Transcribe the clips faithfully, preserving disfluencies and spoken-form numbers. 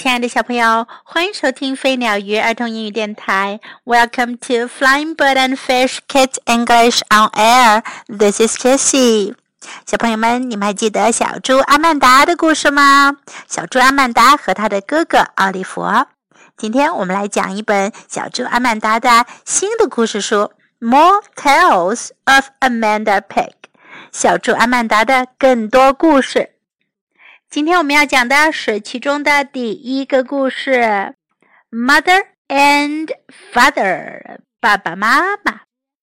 亲爱的小朋友，欢迎收听飞鸟鱼儿童英语电台。Welcome to Flying Bird and Fish Kids English on Air. This is Jessie. 小朋友们，你们还记得小猪阿曼达的故事吗？小猪阿曼达和他的哥哥奥利弗。今天我们来讲一本小猪阿曼达的新的故事书 More Tales of Amanda Pig 小猪阿曼达的更多故事。今天我们要讲的是其中的第一个故事 Mother and Father 爸爸妈妈。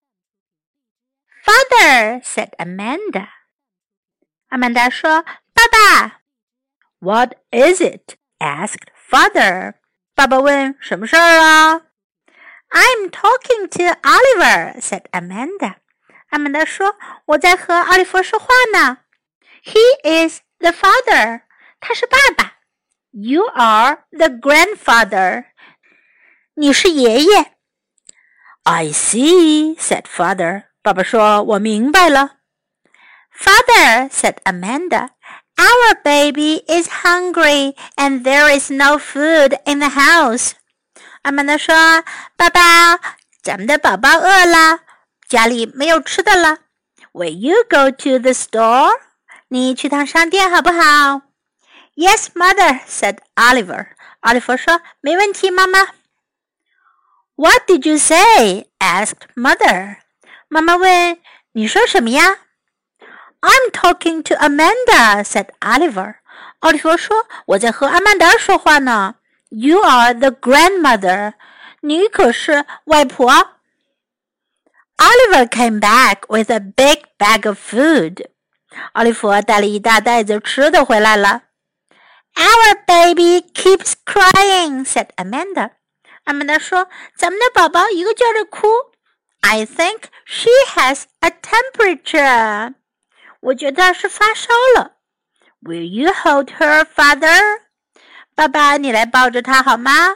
Father said Amanda 阿曼达说爸爸。 What is it? asked Father 爸爸问什么事儿啊？ I'm talking to Oliver said Amanda 阿曼达说我在和奥利弗说话呢。 He is The father, 他是爸爸。 You are the grandfather, 你是爷爷。 I see, said father. 爸爸说我明白了。 Father, said Amanda, our baby is hungry and there is no food in the house. 阿曼达说爸爸，咱们的宝宝饿了，家里没有吃的了。 Will you go to the store?你去趟商店好不好？ Yes, mother, said Oliver. 奥利弗说没问题，妈妈。 What did you say? asked mother. 妈妈问你说什么呀？ I'm talking to Amanda, said Oliver. 奥利弗说我在和阿曼达说话呢。 You are the grandmother. 你可是外婆。 Oliver came back with a big bag of food.奥利弗带了一大袋子吃的回来了。 Our baby keeps crying, said Amanda. 阿曼达说咱们的宝宝一个劲儿地哭。 I think she has a temperature. 我觉得是发烧了。 Will you hold her, father? 爸爸你来抱着她好吗？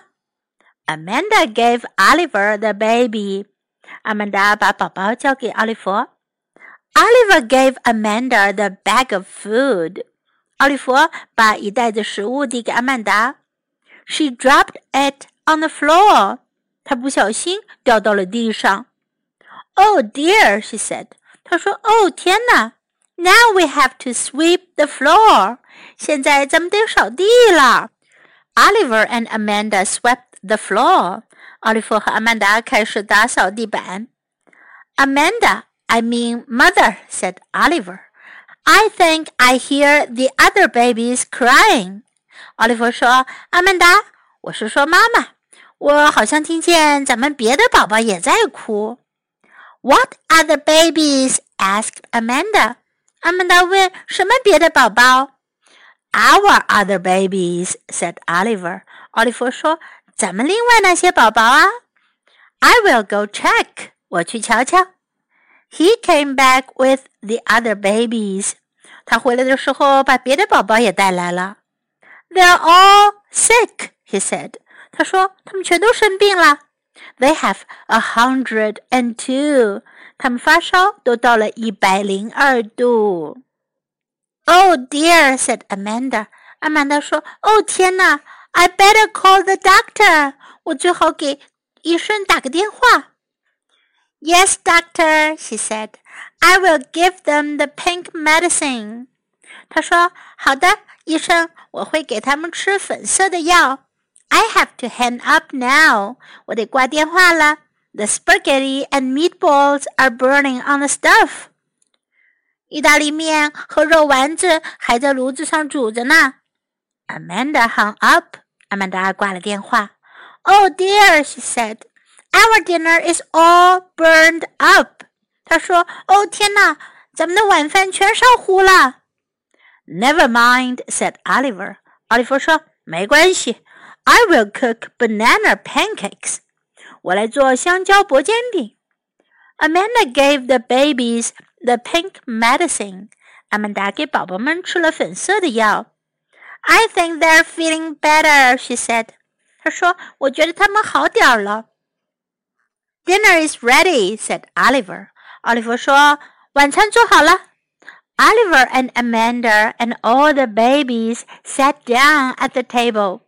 Amanda gave Oliver the baby. 阿曼达把宝宝交给奥利弗。Oliver gave Amanda the bag of food. 奥利弗把一袋子食物递给阿曼达。She dropped it on the floor. 她不小心掉到了地上。Oh dear, she said. 她说哦天哪 Now we have to sweep the floor. 现在咱们得扫地了。Oliver and Amanda swept the floor. 奥利弗和阿曼达开始打扫地板。Amanda,I mean mother, said Oliver. I think I hear the other babies crying. 奥利弗说阿曼达，我是说妈妈，我好像听见咱们别的宝宝也在哭。 What other babies? asked Amanda. 阿曼达问什么别的宝宝？ Our other babies, said Oliver. 奥利弗说咱们另外那些宝宝啊。 I will go check. 我去瞧瞧。He came back with the other babies. 他回来的时候把别的宝宝也带来了。They're all sick, he said. 他说他们全都生病了。They have a hundred and two. 他们发烧都到了一百零二度。Oh dear, said Amanda. 阿曼达说哦天哪 I better call the doctor. 我最好给医生打个电话。Yes, doctor, she said. I will give them the pink medicine. 她说好的医生我会给他们吃粉色的药。 I have to hang up now. 我得挂电话了。 The spaghetti and meatballs are burning on the stove. 意大利面和肉丸子还在炉子上煮着呢。 Amanda hung up. 阿曼达挂了电话。 Oh dear, she said.Our dinner is all burned up. 他说哦天哪咱们的晚饭全烧糊了。 Never mind, said Oliver. 奥利弗说没关系 I will cook banana pancakes. 我来做香蕉薄煎饼。 Amanda gave the babies the pink medicine. 阿曼达给宝宝们吃了粉色的药。 I think they're feeling better, she said. 她说我觉得他们好点儿了。Dinner is ready, said Oliver. 奥利弗说晚餐做好了。Oliver and Amanda and all the babies sat down at the table.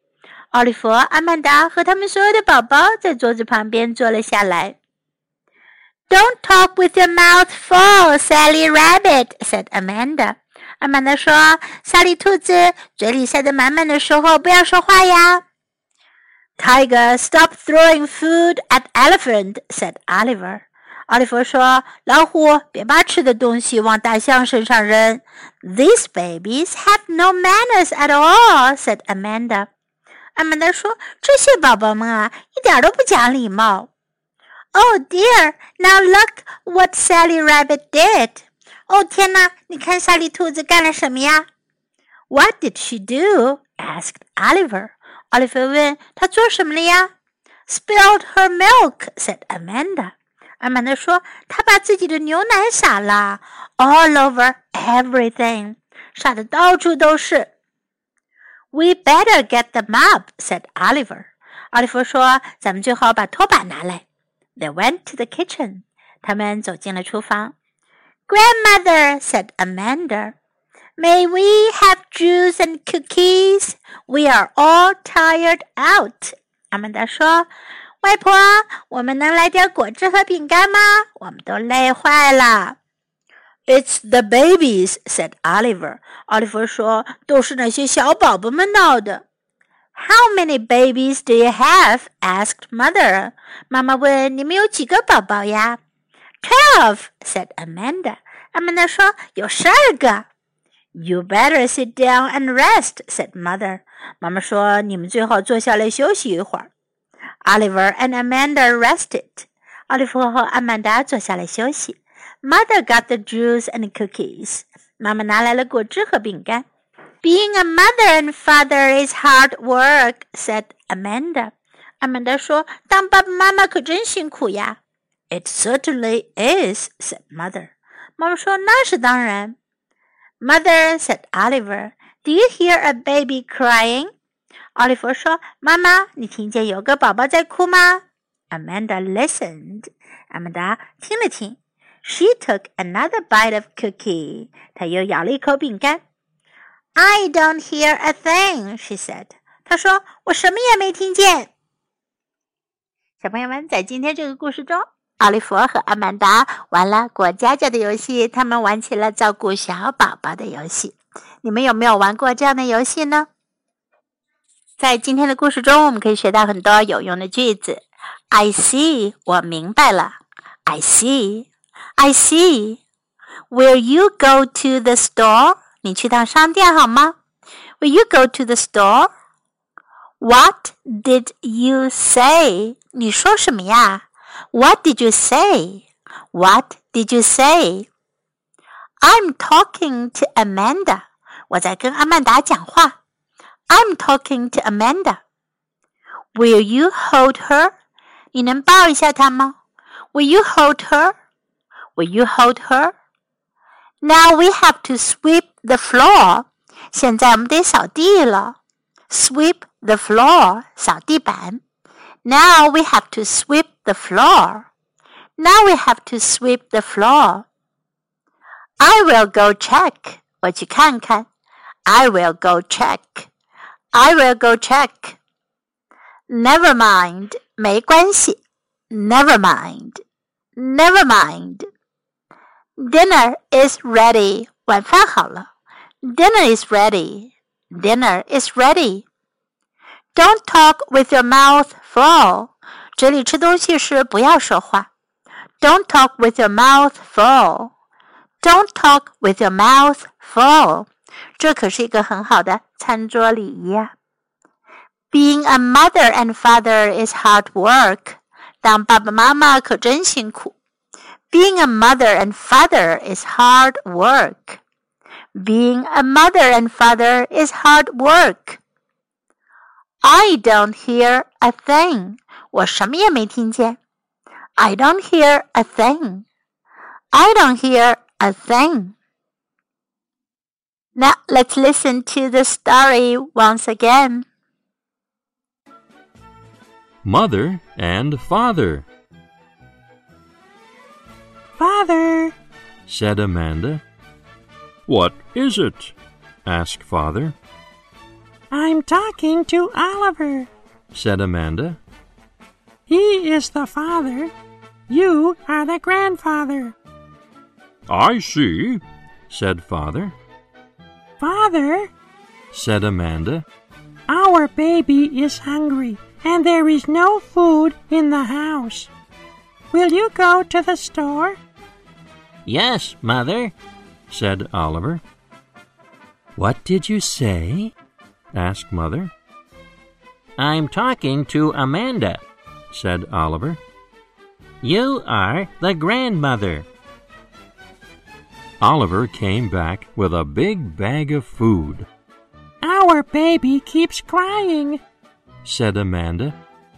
奥利弗、阿曼达和他们所有的宝宝在桌子旁边坐了下来。Don't talk with your mouth full, Sally Rabbit, said Amanda. 阿曼达说，萨莉兔子嘴里塞得满满的时候不要说话呀。Tiger, stop throwing food at elephant, said Oliver. 奥利弗说，老虎别把吃的东西往大象身上扔。These babies have no manners at all, said Amanda. 阿曼达说，这些宝宝们啊，一点都不讲礼貌。Oh dear, now look what Sally Rabbit did. 哦天哪，你看萨莉兔子干了什么呀？ What did she do? asked Oliver. 奥利弗问，她做什么了呀？ Spilled her milk, said Amanda. 阿曼达说，她把自己的牛奶洒了 all over everything. 洒得到处都是。We better get the mop, said Oliver. 奥利弗说，咱们最好把拖把拿来。They went to the kitchen. 他们走进了厨房。Grandmother, said Amanda, may we have juice and cookies? We are all tired out. 阿曼达说，外婆，我们能来点果汁和饼干吗？我们都累坏了。It's the babies, said Oliver. 奥利弗说，都是那些小宝宝们闹的。How many babies do you have? asked Mother. 妈妈问，你们有几个宝宝呀？ Twelve, said Amanda. 阿曼达说，有十二个。You better sit down and rest, said Mother. 妈妈说，你们最好坐下来休息一会儿。Oliver and Amanda rested. 奥利弗和阿曼达坐下来休息。Mother got the juice and cookies. 妈妈拿来了果汁和饼干。Being a mother and father is hard work, said Amanda. 阿曼达说，当爸爸妈妈可真辛苦呀。It certainly is, said Mother. 妈妈说，那是当然。Mother, said Oliver, do you hear a baby crying? 奥利弗说，妈妈，你听见有个宝宝在哭吗？ Amanda listened. 阿曼达听了听。She took another bite of cookie. 她又咬了一口饼干。I don't hear a thing, she said. 她说，我什么也没听见。小朋友们，在今天这个故事中，奥利弗和阿曼达玩了过家家的游戏，他们玩起了照顾小宝宝的游戏。你们有没有玩过这样的游戏呢？在今天的故事中，我们可以学到很多有用的句子。I see, 我明白了。I see, I see. Will you go to the store? 你去趟商店好吗？ Will you go to the store? What did you say? 你说什么呀？ What did you say? What did you say? I'm talking to Amanda. 我在跟阿曼达讲话。I'm talking to Amanda. Will you hold her? 你能抱一下她吗？ Will you hold her? Will you hold her? Now we have to sweep the floor. 现在我们得扫地了。Sweep the floor. 扫地板。Now we have to sweep the floor. Now we have to sweep the floor. I will go check. 我去看看。I will go check. I will go check. Never mind. 没关系。Never mind. Never mind. Dinner is ready. 晚饭好了。Dinner is ready. Dinner is ready. Don't talk with your mouth full. 嘴里吃东西时不要说话。Don't talk with your mouth full. Don't talk with your mouth full. 这可是一个很好的餐桌礼仪呀。Being a mother and father is hard work. 当爸爸妈妈可真辛苦。Being a mother and father is hard work. Being a mother and father is hard work. I don't hear a thing. 我什么也没听见。I don't hear a thing. I don't hear a thing. Now let's listen to the story once again. Mother and Father. Father, said Amanda. What is it? asked Father. I'm talking to Oliver, said Amanda. He is the father. You are the grandfather. I see, said Father. Father, said Amanda. Our baby is hungry, and there is no food in the house. Will you go to the store? Yes, Mother, said Oliver. What did you say? asked Mother. I'm talking to Amanda, said Oliver. You are the grandmother. Oliver came back with a big bag of food. Our baby keeps crying, said Amanda.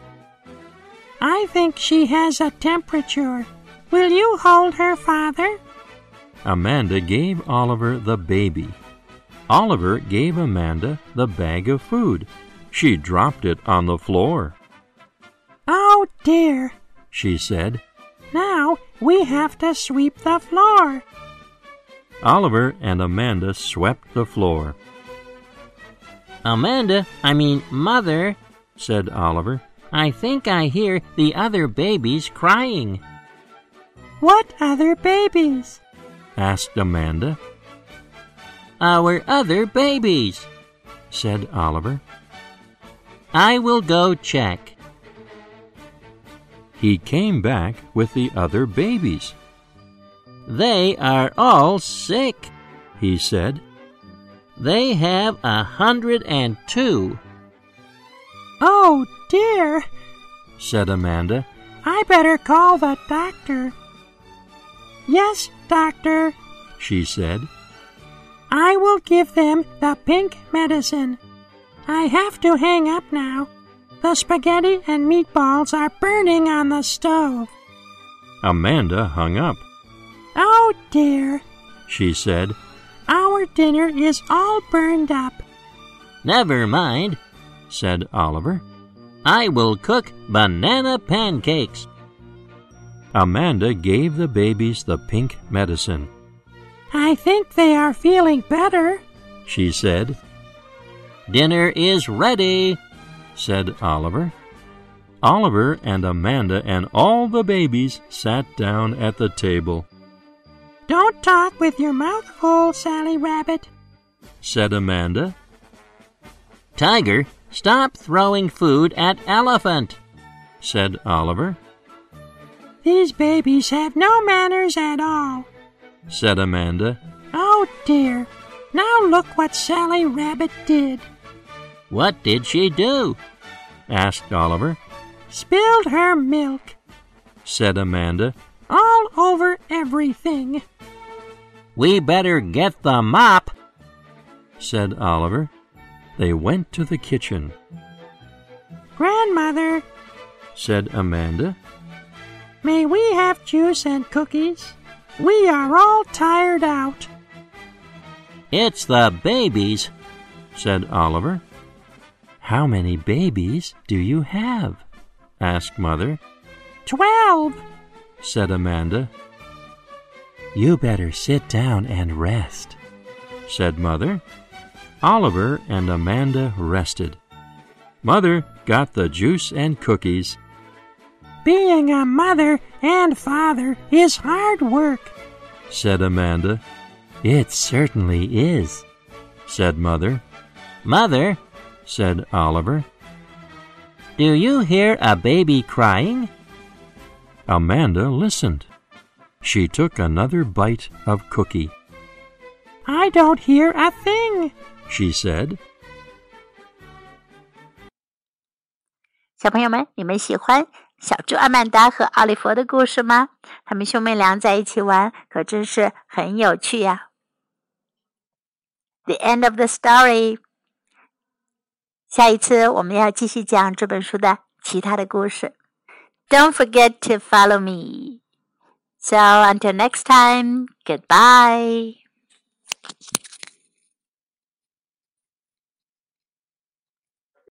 I think she has a temperature. Will you hold her, Father? Amanda gave Oliver the baby. Oliver gave Amanda the bag of food. She dropped it on the floor. Oh, dear, she said. Now we have to sweep the floor. Oliver and Amanda swept the floor. Amanda, I mean Mother, said Oliver. I think I hear the other babies crying. What other babies? asked Amanda. Our other babies, said Oliver. I will go check. He came back with the other babies. They are all sick, he said. They have a hundred and two. Oh, dear, said Amanda. I better call the doctor. Yes, doctor, she said. I will give them the pink medicine. I have to hang up now. The spaghetti and meatballs are burning on the stove. Amanda hung up. Oh, dear, she said. Our dinner is all burned up. Never mind, said Oliver. I will cook banana pancakes. Amanda gave the babies the pink medicine. I think they are feeling better, she said. Dinner is ready, said Oliver. Oliver and Amanda and all the babies sat down at the table. Don't talk with your mouth full, Sally Rabbit, said Amanda. Tiger, stop throwing food at Elephant, said Oliver. These babies have no manners at all, said Amanda. Oh, dear. Now look what Sally Rabbit did. What did she do? asked Oliver. Spilled her milk, said Amanda. All over everything. We better get the mop, said Oliver. They went to the kitchen. Grandmother, said Amanda, may we have juice and cookies? We are all tired out. It's the babies, said Oliver. How many babies do you have? asked Mother. Twelve, said Amanda. You better sit down and rest, said Mother. Oliver and Amanda rested. Mother got the juice and cookies. Being a mother and father is hard work, said Amanda. It certainly is, said Mother. Mother, said Oliver. Do you hear a baby crying? Amanda listened. She took another bite of cookie. I don't hear a thing, she said. 小朋友们，你们喜欢小猪阿曼达和奥利弗的故事吗？他们兄妹俩在一起玩，可真是很有趣呀。The end of the story. 下一次我们要继续讲这本书的其他的故事。Don't forget to follow me. So until next time, goodbye.